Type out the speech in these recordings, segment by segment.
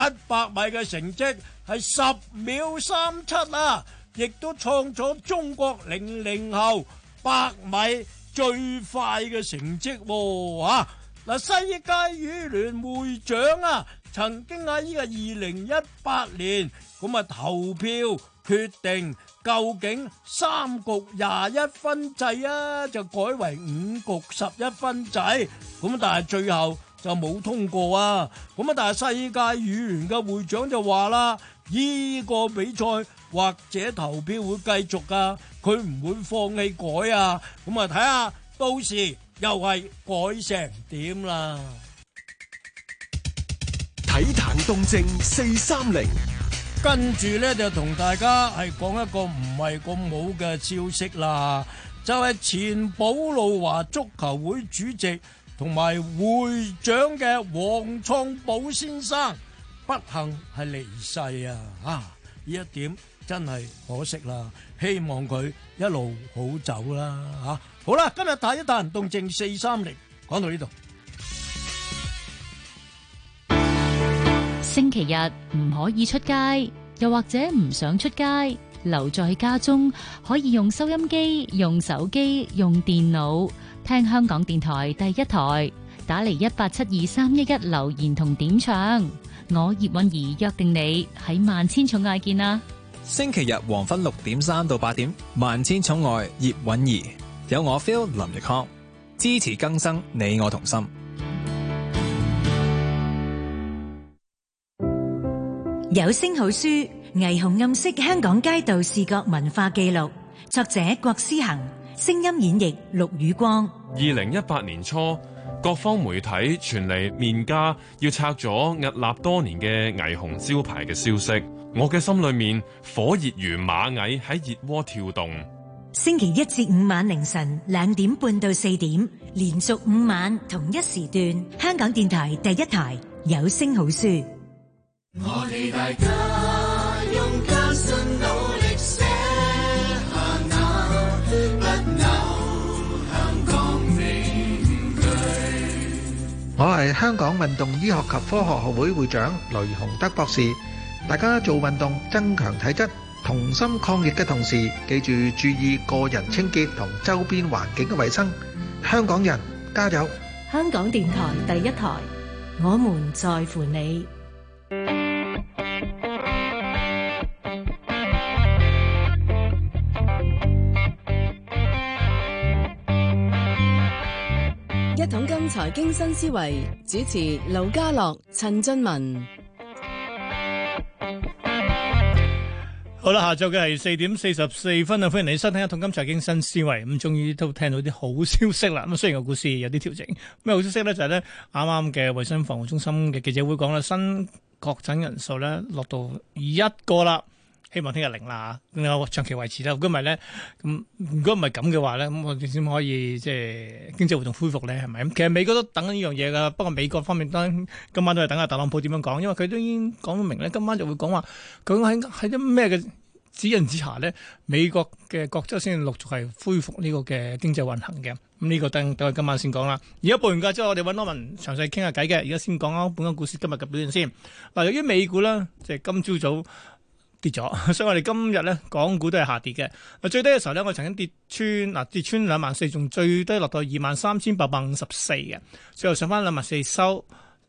米嘅成績係10秒37啊，亦都創咗中國00後100米最快嘅成績喎。嗱，世界羽聯會長啊，曾經喺呢個2018年咁啊投票決定究竟3局21分制啊，就改為5局11分制，咁但係最後就冇通過啊。咁啊，但係世界羽聯嘅會長就話啦，呢個比賽或者投票會繼續啊，佢唔會放棄改啊。咁啊，睇下到時又係改成點啦。 體壇動靜430， 跟住呢，就同大家係講一個唔係咁好嘅消息啦，就係前寶路華足球會主席同埋會長嘅黃創寶先生不幸係離世啊！呢一點真係可惜啦，希望佢一路好走啦。好啦，今日睇一壇動靜430，講到呢度。 星期日唔可以出街，又或者唔想出街，留在家中可以用收音機、用手機、用電腦聽香港電台第一台，打嚟1872311留言同點唱。我葉韻儀約定你喺萬千寵愛見啦！ 星期日黃昏6點3到8點，萬千寵愛葉韻儀，有我 Phil 林奕康，支持更生，你我同心。 有聲好書，霓虹暗色香港街道視覺文化記錄，作者郭思恒，聲音演繹陸宇光。 2018年初，各方媒體傳嚟面家要拆咗屹立多年嘅霓虹招牌嘅消息，我嘅心裏面火熱如螞蟻喺熱鍋跳動。 星期1至5晚凌晨2點半到4點，連續5晚同一時段，香港電台第一台有聲好書。 我哋大家用艱辛努力寫下那不朽香港名句。 我係香港運動醫學及科學學會會長雷洪德博士。大家做運動增強體質，同心抗疫嘅同時，記住注意個人清潔同周邊環境嘅衛生。香港人加油！ 香港電台第一台，我們在乎你。 一桶金財經新思維，主持盧家樂、陳俊文。 好啦，下晝嘅係4點44分啊！歡迎你收聽一桶金財經新思維。咁終於都聽到啲好消息啦。咁雖然個股市有啲調整，咩好消息咧？就係咧啱啱嘅衛生防護中心嘅記者會講啦，新確診人數咧落到1個啦。希望聽日0啦，咁長期維持啦。如果唔係咧，咁如果唔係咁嘅話咧，咁我哋先可以即係經濟活動恢復咧，係咪？咁其實美國都等緊呢樣嘢噶，不過美國方面當然今晚都係等下特朗普點樣講，因為佢都已經講到明咧，今晚就會講話究竟喺啲咩嘅指引之下咧，美國嘅各州先陸續係恢復呢個嘅經濟運行嘅。咁呢個等我今晚先講啦。而家報完價之後，我哋揾羅文詳細傾下偈嘅。而家先講下本港股市今日嘅表現先。嗱，由於美股咧，即係今朝早跌咗，所以我哋今日咧港股都係下跌嘅。最低嘅時候咧，我曾經跌穿24,000，仲最低落到23,854嘅，最後上翻24,000收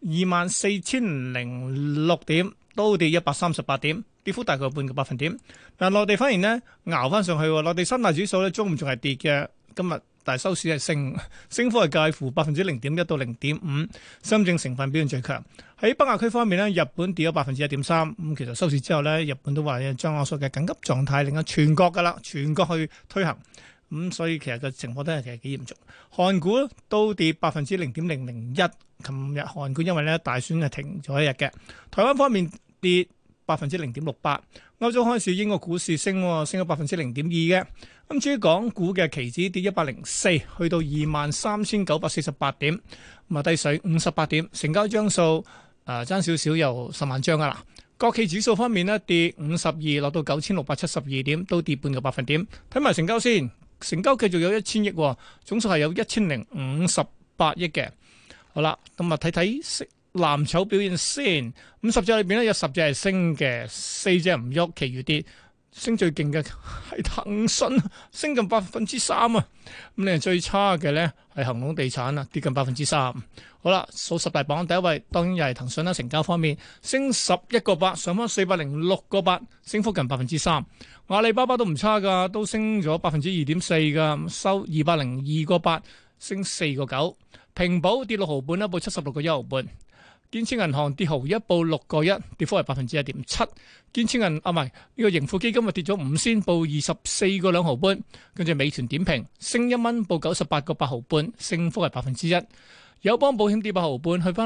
24,006點，都跌138點，跌幅大概半個百分點。嗱，內地反而呢，熬翻上去，內地三大指數咧中午仲係跌嘅，今日但係收市係升幅係介乎0.1%到0.5%。深證成分表現最強。喺北亞區方面呢，日本跌咗1.3%。咁其實收市之後呢，日本都話將我所嘅緊急狀態令到全國噶啦，全國去推行。所以其實個情況都係其實幾嚴重。韓股都跌0.001%。琴日韓股因為咧大選係停咗一日嘅。台灣方面跌0.68%。歐洲開市，英國股市升咗0.2%嘅。咁至於港股嘅期指跌104，去到23,948點，咁啊低水58點，成交張數爭少少又10萬張噶啦。國企指數方面呢，跌52，落到9,672點，都跌半個百分點。睇埋成交先，成交繼續有1000億，總數係有1058億嘅。好啦，咁啊睇睇藍籌表現先。咁10隻裏邊咧有10隻係升嘅，4隻唔喐，其餘跌。升最勁嘅係騰訊，升近3%啊！咁你最差嘅咧係恒隆地產啊，跌近3%。好啦，數10大榜第一位當然又係騰訊啦，成交方面升11.8，上翻406.8，升幅近3%。阿里巴巴都唔差噶，都升咗2.4%噶，收202.8，升4.9。平保跌6毫半啦，報76.1毫半。建設銀行跌毫一，報6.1，跌幅係1.7%。建設銀唔係呢個盈富基金啊跌咗5仙，報24.2毫半。跟住美團點評升1蚊，報98.8毫半，升幅係1%。友邦保險跌8毫半，去翻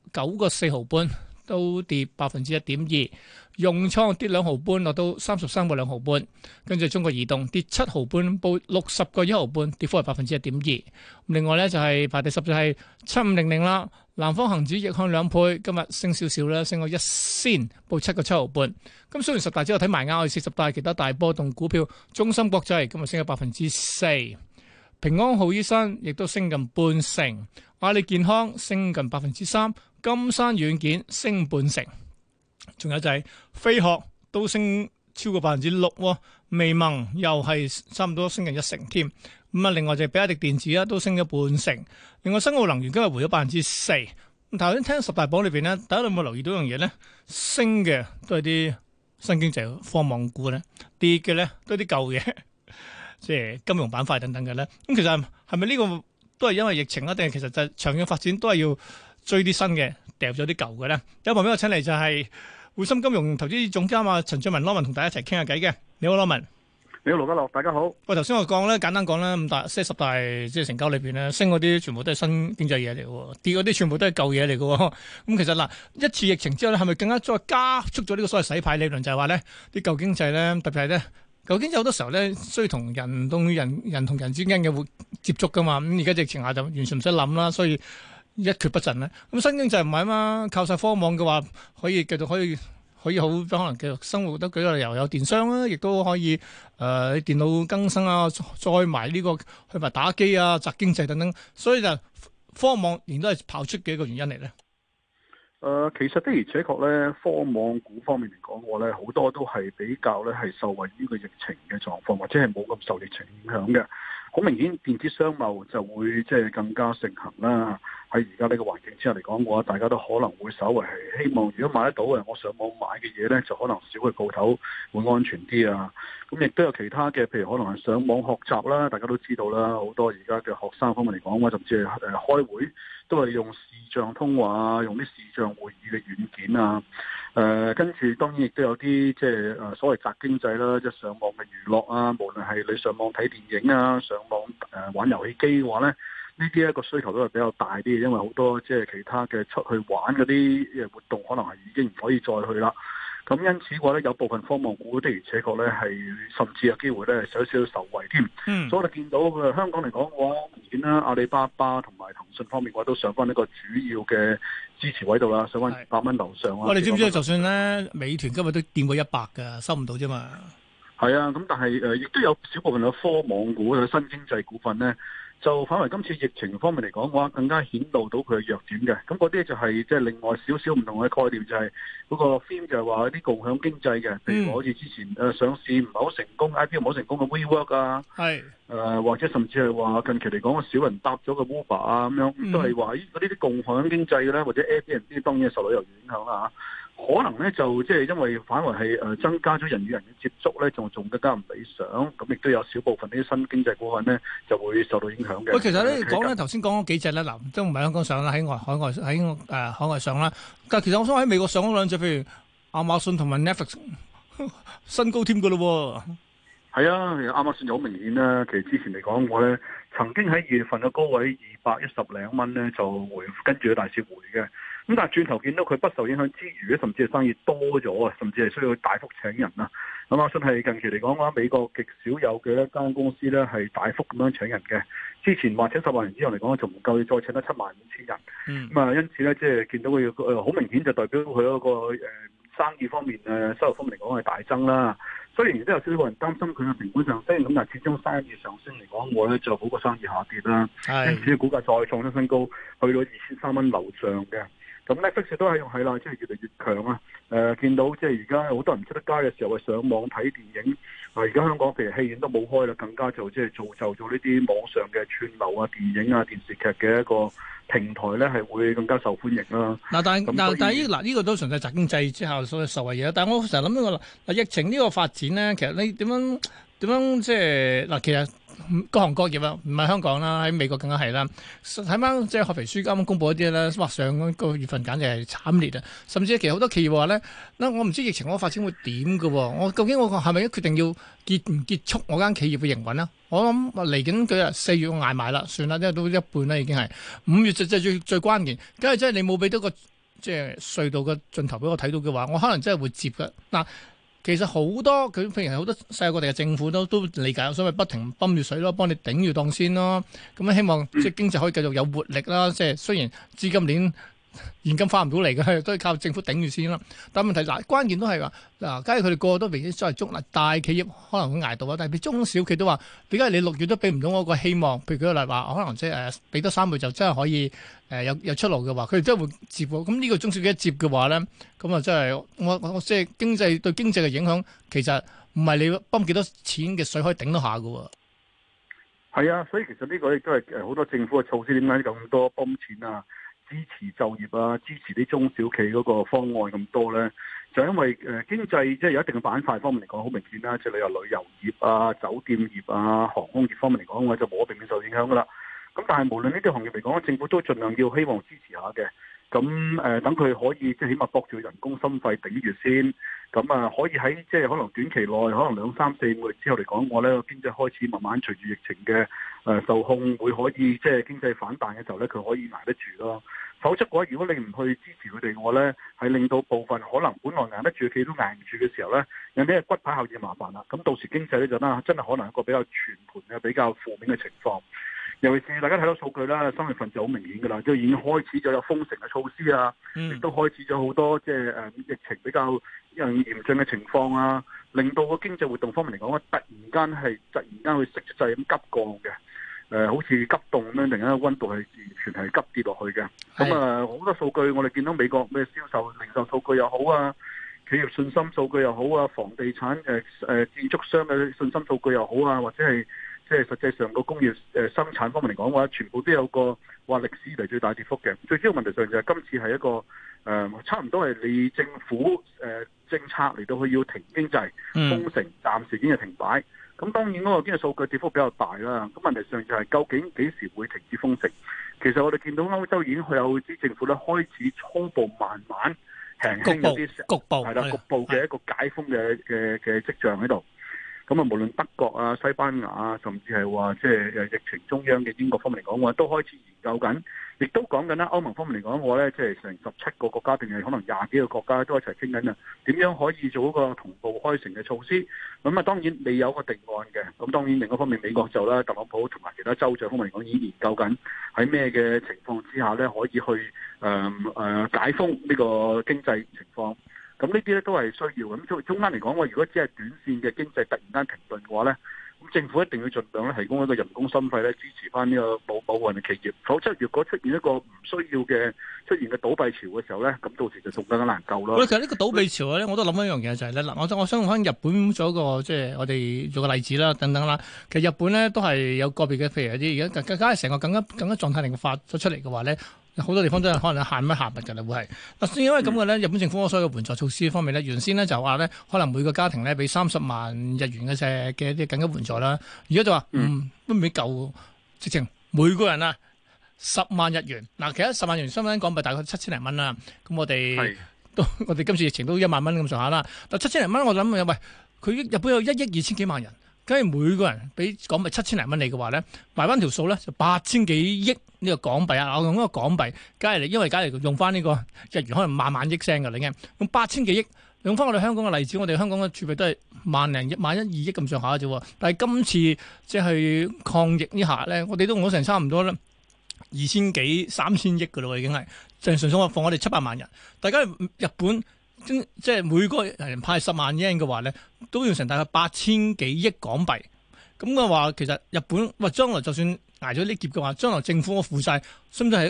69.4毫半，都跌1.2%。融創跌2毫半，落到33.2毫半。跟住中國移動跌7毫半，報60.1毫半，跌幅係1.2%。另外咧就係排第10就係7500啦。南方恒指逆向2倍，今日升少少啦，升咗1仙，報7.7毫半。咁雖然10大之後睇埋啱，去40大其他大波動股票，中芯國際今日升咗4%，平安好醫生亦都升近0.5%，阿里健康升近3%，金山軟件升0.5%，仲有就係飛鶴都升超過6%，微盟又係差唔多升近1成添。咁啊，另外就係比亞迪電子啦，都升咗0.5%。另外，新奧能源今日回咗4%。咁頭先聽10大榜裏邊咧，大家有冇留意到樣嘢咧？升嘅都係啲新經濟科網股咧，跌嘅咧都係啲舊嘢，即係金融板塊等等嘅咧。咁其實係咪呢個都係因為疫情啊？定係其實就係長遠發展都係要追啲新嘅，掉咗啲舊嘅咧？有旁邊我請嚟就係匯豐金融投資總監啊陳俊文 Norman 同大家一齊傾下偈嘅。你好 Norman。 你好，盧家樂，大家好。喂， 頭先我講咧，簡單講咧，10大即係成交裏邊咧，升嗰啲全部都係新經濟嘢嚟嘅，跌嗰啲全部都係舊嘢嚟嘅。咁其實嗱，一次疫情之後咧，係咪更加再加速咗呢個所謂洗牌理論？就係話咧，啲舊經濟咧，特別係咧，舊經濟好多時候咧，需要同人同人之間嘅接觸噶嘛。咁而家疫情下就完全唔使諗啦，所以一蹶不振咧。咁新經濟唔係啊嘛，靠晒科網嘅話，可以繼續可以好可能繼續生活得舉個例，又有電商啦，亦都可以電腦更新啊，再埋呢個去埋打機啊、宅經濟等等，所以就科網仍然都係跑出嘅一個原因嚟咧。 其實的而且確咧，科網股方面嚟講嘅話咧，好多都係比較咧係受惠於個疫情嘅狀況，或者係冇咁受疫情影響嘅。好明顯，電子商貿就會即係更加盛行啦。喺而家呢個環境之下嚟講嘅話，大家都可能會稍微係希望，如果買得到嘅，我上網買嘅嘢咧，就可能少去鋪頭會安全啲啊。咁亦都有其他嘅，譬如可能係上網學習啦，大家都知道啦，好多而家嘅學生方面嚟講嘅話，甚至係開會都係用視像通話啊，用啲視像會議嘅軟件啊。跟住當然亦都有啲即係所謂宅經濟啦，即係上網嘅娛樂啊，無論係你上網睇電影啊，上網玩遊戲機嘅話咧。呢啲一個需求都係比較大啲，因為好多即係其他嘅出去玩嗰啲活動，可能係已經唔可以再去啦。咁因此嘅話咧，有部分科網股的而且確咧係甚至有機會咧少少受惠添。所以我哋見到香港嚟講嘅話，明顯啦，阿里巴巴同埋騰訊方面嘅話都上翻一個主要嘅支持位度啦，上翻200蚊樓上啊。 你知唔知就算咧美團今日都掂過100㗎，收唔到啫嘛。 係啊，咁但係亦都有少部分嘅科網股嘅新經濟股份咧。就反為今次疫情方面嚟講嘅話，更加顯露到佢嘅弱點嘅。咁嗰啲就係即係另外少少唔同嘅概念，就係嗰個 theme 就係話啲共享經濟嘅，譬如好似之前上市唔係好成功，IPO 唔好成功嘅 WeWork 啊，或者甚至係話近期嚟講少人搭咗個 Uber 啊咁樣，都係話嗰啲共享經濟嘅咧，或者 Airbnb 當然受旅遊影響啦。可能咧就即係因為反為係增加咗人與人嘅接觸咧，仲更加唔理想，咁亦都有少部分呢啲新經濟股份咧就會受到影響嘅。 喂，其實咧講咧頭先講嗰幾隻咧，嗱都唔係香港上啦，喺海外上啦。但係其實我想喺美國上嗰兩隻，譬如亞馬遜同埋 Netflix 新高添㗎咯喎。 係啊，亞馬遜就好明顯啦。其實之前嚟講，我咧曾經喺2月份嘅高位210零蚊咧就跟住個大市回嘅。咁但係轉頭見到佢不受影響之餘咧，甚至係生意多咗啊，甚至係需要大幅請人啊。亞馬遜係近期嚟講嘅話，美國極少有嘅一間公司咧係大幅咁樣請人嘅。之前話請10萬人之後嚟講，就唔夠，要再請得75000人。咁啊，因此咧，即係見到佢好明顯就代表佢嗰個生意方面收入方面嚟講係大增啦。雖然亦都有少少人擔心佢嘅成本上升，咁但係始終生意上升嚟講，我咧就好過生意下跌啦。因此股價再創咗新高，去到2300蚊樓上嘅。 咁 Netflix 都係啦，即係越嚟越強啊！見到即係而家好多人唔出得街嘅時候，係上網睇電影。而家香港譬如戲院都冇開啦，更加就即係造就咗呢啲網上嘅串流啊、電影啊、電視劇嘅一個平台咧，係會更加受歡迎啦。 但係呢個都純粹宅經濟之後所受惠嘢。但係我成日諗呢個疫情呢個發展咧，其實你點樣即係嗱，其實各行各業啊，唔係香港啦，喺美國更加係啦。睇翻即係合肥書啱啱公佈一啲咧，哇！上個月份簡直係慘烈啊！甚至其實好多企業話咧，嗱我唔知疫情嗰個發展會點嘅喎，我究竟我係咪決定要結束我間企業嘅營運啊？我諗嚟緊佢4月我捱埋啦，算啦，因為都一半啦已經係5月就最關鍵。梗係真係你冇俾到個即係隧道嘅盡頭俾我睇到嘅話，我可能真係會接嘅嗱。其實好多佢譬如好多世界各地嘅政府都理解，所謂不停泵住水咯，幫你頂住檔先咯。咁希望即係經濟可以繼續有活力啦。即係雖然資金鏈現金翻唔到嚟嘅，都係靠政府頂住先啦。但係問題嗱，關鍵都係話嗱，假如佢哋個個都為咗所謂中嗱大企業可能會捱到啊，但係中小企都話點解你6月都俾唔到我個希望？譬如舉個例話，可能即係俾多3個月就真係可以有出路嘅話，佢哋真係會接喎。咁呢個中小企一接嘅話咧，咁啊真係我即係經濟對經濟嘅影響，其實唔係你泵幾多錢嘅水可以頂得下嘅喎。 係啊，所以其實呢個亦都係好多政府嘅措施，點解咁多泵錢啊？支持就業啊，支持啲中小企嗰個方案咁多呢，就因為經濟即係有一定嘅板塊方面嚟講，好明顯啦，即係你話旅遊業啊、酒店業啊、航空業方面嚟講，我就冇避免受影響噶啦。咁但係無論呢啲行業嚟講，政府都盡量要希望支持下嘅。咁等佢可以即係起碼搏住人工心肺頂住先。咁可以喺即係可能短期內，可能2、3、4個月之後嚟講，我呢個經濟開始慢慢隨住疫情嘅受控，會可以即係經濟反彈嘅時候呢，佢可以捱得住咯。否則嘅話，如果你唔去支持佢哋嘅話呢，係令到部分可能本來捱得住嘅企都捱唔住嘅時候呢，有啲係骨牌效應麻煩啦。咁到時經濟呢，就真係可能一個比較全盤嘅比較負面嘅情況。尤其是大家睇到數據啦，3月份就好明顯㗎啦，即係已經開始咗有封城嘅措施啊，亦都開始咗好多即係疫情比較嚴峻嘅情況啊，令到個經濟活動方面嚟講，突然間去息勢咁急降嘅，好似急凍咁樣，突然間溫度係完全係急跌落去嘅。咁好多數據我哋見到美國咩銷售、零售數據又好啊，企業信心數據又好啊，房地產建築商嘅信心數據又好啊，或者係即係實際上個工業生產方面嚟講嘅話，全部都有個話歷史嚟最大跌幅嘅。最主要問題上就係今次係一個差唔多係你政府政策嚟到去要停經濟封城，暫時已經係停擺。咁當然嗰個經濟數據跌幅比較大啦。咁問題上就係究竟幾時會停止封城？其實我哋見到歐洲已經有啲政府咧開始初步慢慢輕輕有啲局部嘅一個解封嘅跡象喺度。咁無論德國啊、西班牙啊，甚至係話即係疫情中央嘅英國方面嚟講嘅話，都開始研究緊，亦都講緊啦。歐盟方面嚟講嘅話咧，即係成17個國家定係可能20幾個國家都一齊傾緊啊，點樣可以做一個同步開城嘅措施？咁當然未有個定案嘅。咁當然另一方面，美國就啦，特朗普同埋其他州長方面嚟講已經研究緊喺咩嘅情況之下咧，可以去解封呢個經濟情況。咁呢啲咧都係需要咁中間嚟講，我如果只係短線嘅經濟突然間停頓嘅話咧，咁政府一定要盡量咧提供一個人工心肺咧支持翻呢個保運嘅企業。否則如果出現一個唔需要嘅倒閉潮嘅時候咧，咁到時就仲更加難救咯。 其實呢個倒閉潮咧，我都諗緊一樣嘢就係咧，嗱，我想翻日本做一個即係我哋做個例子啦，等等啦。其實日本咧都係有個別嘅，譬如有啲而家更加係成個更加狀態令發咗出嚟嘅話咧。好多地方都係可能限物㗎啦，會係嗱，因為咁嘅咧，日本政府所有嘅援助措施方面咧，原先咧就話咧，可能每個家庭咧俾30萬日元嘅一啲緊急援助啦，而家就話都未夠，直情每個人啊10萬日元，嗱，其實10萬日元相當於港幣大概7000零蚊啦，咁我哋今次疫情都1萬蚊咁上下啦，但7000零蚊我諗喂，佢日本有1億2千幾萬人。假如每個人俾港幣7000零蚊你嘅話咧，埋翻條數咧就8000幾億呢個港幣啊！我用嗰個港幣，因為假如用翻呢個日元，可能萬億聲㗎，你嘅用8000幾億，用翻我哋香港嘅例子，我哋香港嘅儲備都係萬1、2億咁上下啫喎。但係今次即係抗疫呢下咧，我哋都用咗成差唔多咧2000幾3000億㗎咯，已經係就係純粹我放我哋700萬人，大家日本。即係每個人派10萬yen嘅話咧，都要成大概8000幾億港幣。咁嘅話，其實日本將來就算捱咗呢劫嘅話，將來政府嘅負債，甚至係一個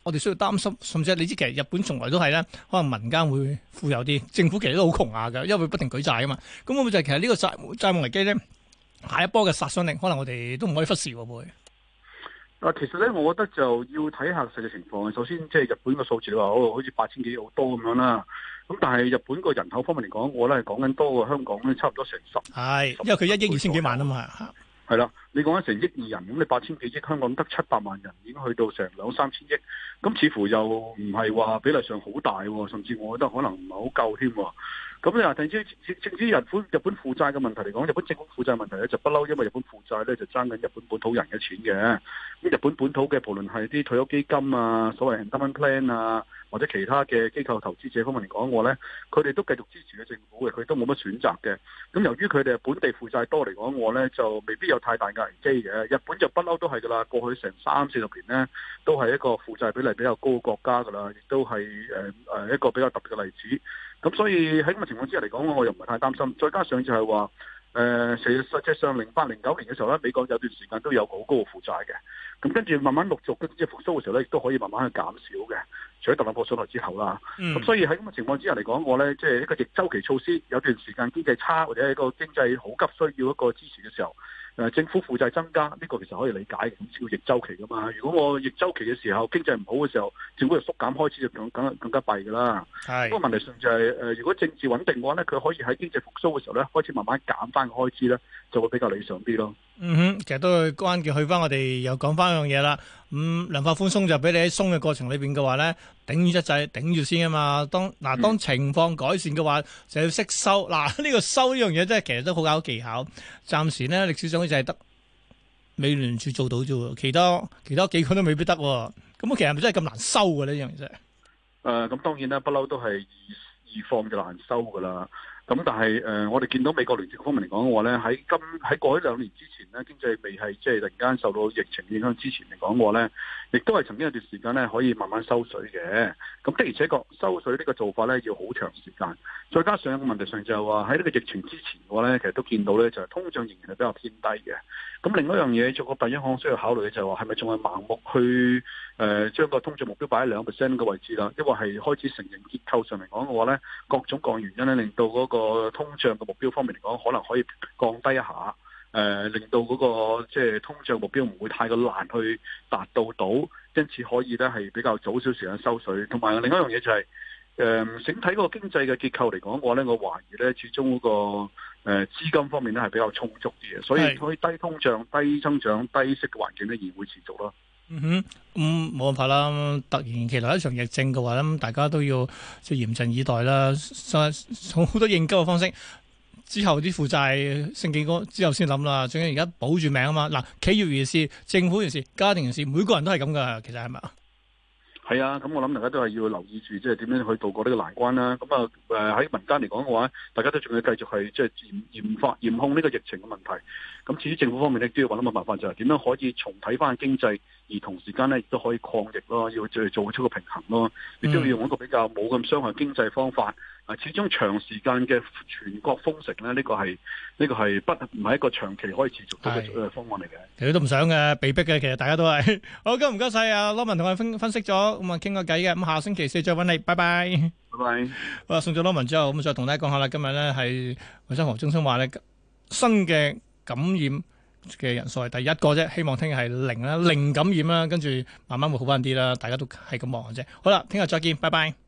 我哋需要擔心，甚至係你知其實日本從來都係咧，可能民間會富有啲，政府其實都好窮下㗎，因為不停舉債啊嘛。咁會唔會就係其實呢個債務危機咧，下一波嘅殺傷力，可能我哋都唔可以忽視喎會。 其實咧，我覺得就要睇下實際情況。首先，即係日本個數字你話好似8000幾好多咁樣啦。咁但係日本個人口方面嚟講，我咧係講緊多過香港咧，差唔多成10。 係，因為佢1億2000幾萬啊嘛。 係啦，你講緊成億2人，咁你8000幾億，香港得700萬人，已經去到成2、3千億。咁似乎又唔係話比例上好大喎，甚至我覺得可能唔係好夠添。咁你話，正至日本負債嘅問題嚟講，日本政府負債問題咧就不嬲，因為日本負債咧就爭緊日本本土人嘅錢嘅。咁日本本土嘅無論係啲退休基金啊、所謂 endowment plan 啊，或者其他嘅機構投資者方面嚟講，我咧佢哋都繼續支持嘅政府嘅，佢都冇乜選擇嘅。咁由於佢哋本地負債多嚟講，我咧就未必有太大嘅危機嘅。日本就不嬲都係噶啦，過去成30-40年咧都係一個負債比例比較高嘅國家噶啦，亦都係一個比較特別嘅例子。咁所以喺咁嘅情況之下嚟講，我又唔係太擔心。再加上就係話，實際上08、09年嘅時候咧，美國有段時間都有好高嘅負債嘅。咁跟住慢慢陸續即係復甦嘅時候咧，亦都可以慢慢去減少嘅。除咗特朗普上台之後啦，咁所以喺咁嘅情況之下嚟講，我咧即係一個逆周期措施，有段時間經濟差或者係一個經濟好急需要一個支持嘅時候。政府負債增加呢個其實可以理解嘅，咁叫逆周期噶嘛。如果我逆周期嘅時候經濟唔好嘅時候，政府就縮減開支就更加弊噶啦。不過問題上就係如果政治穩定嘅話咧，佢可以喺經濟復甦嘅時候咧，開始慢慢減翻個開支咧，就會比較理想啲咯。 其實都係關鍵。去翻我哋又講翻一樣嘢啦。量化寬鬆就俾你喺鬆嘅過程裏邊嘅話咧，頂於一掣，頂住先啊嘛。當情況改善嘅話，就要識收。呢個收呢樣嘢真係其實都好搞技巧。暫時咧歷史上就係得美聯儲做到啫喎，其他幾個都未必得喎。咁其實係咪真係咁難收嘅呢樣嘢啫？ 咁當然啦，不嬲都係易放就難收噶啦。咁但係我哋見到美國聯儲方面嚟講嘅話咧，喺過去2年之前咧，經濟未係即係突然間受到疫情影響之前嚟講嘅話咧，亦都係曾經有段時間咧可以慢慢收水嘅。咁的而且確收水呢個做法咧要好長時間，再加上個問題上就係話喺呢個疫情之前嘅話咧，其實都見到咧就係通脹仍然係比較偏低嘅。咁另外一樣嘢，做個第一項需要考慮嘅就係話係咪仲係盲目去將個通脹目標擺喺2% 嘅位置啦？因為係開始承認結構上嚟講嘅話咧，各種各樣原因咧令到嗰個通脹嘅目標方面嚟講，可能可以降低一下，令到嗰個即係通脹目標唔會太過難去達到，因此可以咧係比較早少時間收水。同埋另一樣嘢就係整體嗰個經濟嘅結構嚟講嘅話咧，我懷疑咧始終嗰個資金方面咧係比較充足啲嘅，所以可以低通脹、低增長、低息嘅環境咧而會持續咯。 冇辦法啦！突然其來一場疫症嘅話咧，大家都要即係嚴陣以待啦。好多應急嘅方式，之後啲負債升幾多之後先諗啦。仲要而家保住命啊嘛！嗱，企業人士、政府人士、家庭人士，每個人都係咁噶。其實係咪啊？ 係啊，咁我諗大家都係要留意住，即係點樣去渡過呢個難關啦。咁啊，喺民間嚟講嘅話，大家都仲要繼續係即係嚴控呢個疫情嘅問題。咁至於政府方面咧，都要揾一個辦法，就係點樣可以重睇翻經濟，而同時間咧亦都可以抗疫咯，要做出個平衡咯。亦都要用一個比較冇咁傷害經濟方法。始終長時間嘅全國封城咧，呢個係唔係一個長期可以持續到嘅方案嚟嘅。 其實都唔想嘅，被逼嘅。其實大家都係好，唔該晒啊，羅文同我分析咗，咁啊傾個偈嘅。咁下星期4再揾你，拜拜。 拜拜。 好啦，送咗羅文之後，咁再同大家講下啦。今日咧係衞生防護中心話咧，新嘅感染嘅人數係第一個啫，希望聽日係零感染啦，跟住慢慢會好翻啲啦。大家都係咁望嘅啫。好啦，聽日再見，拜拜。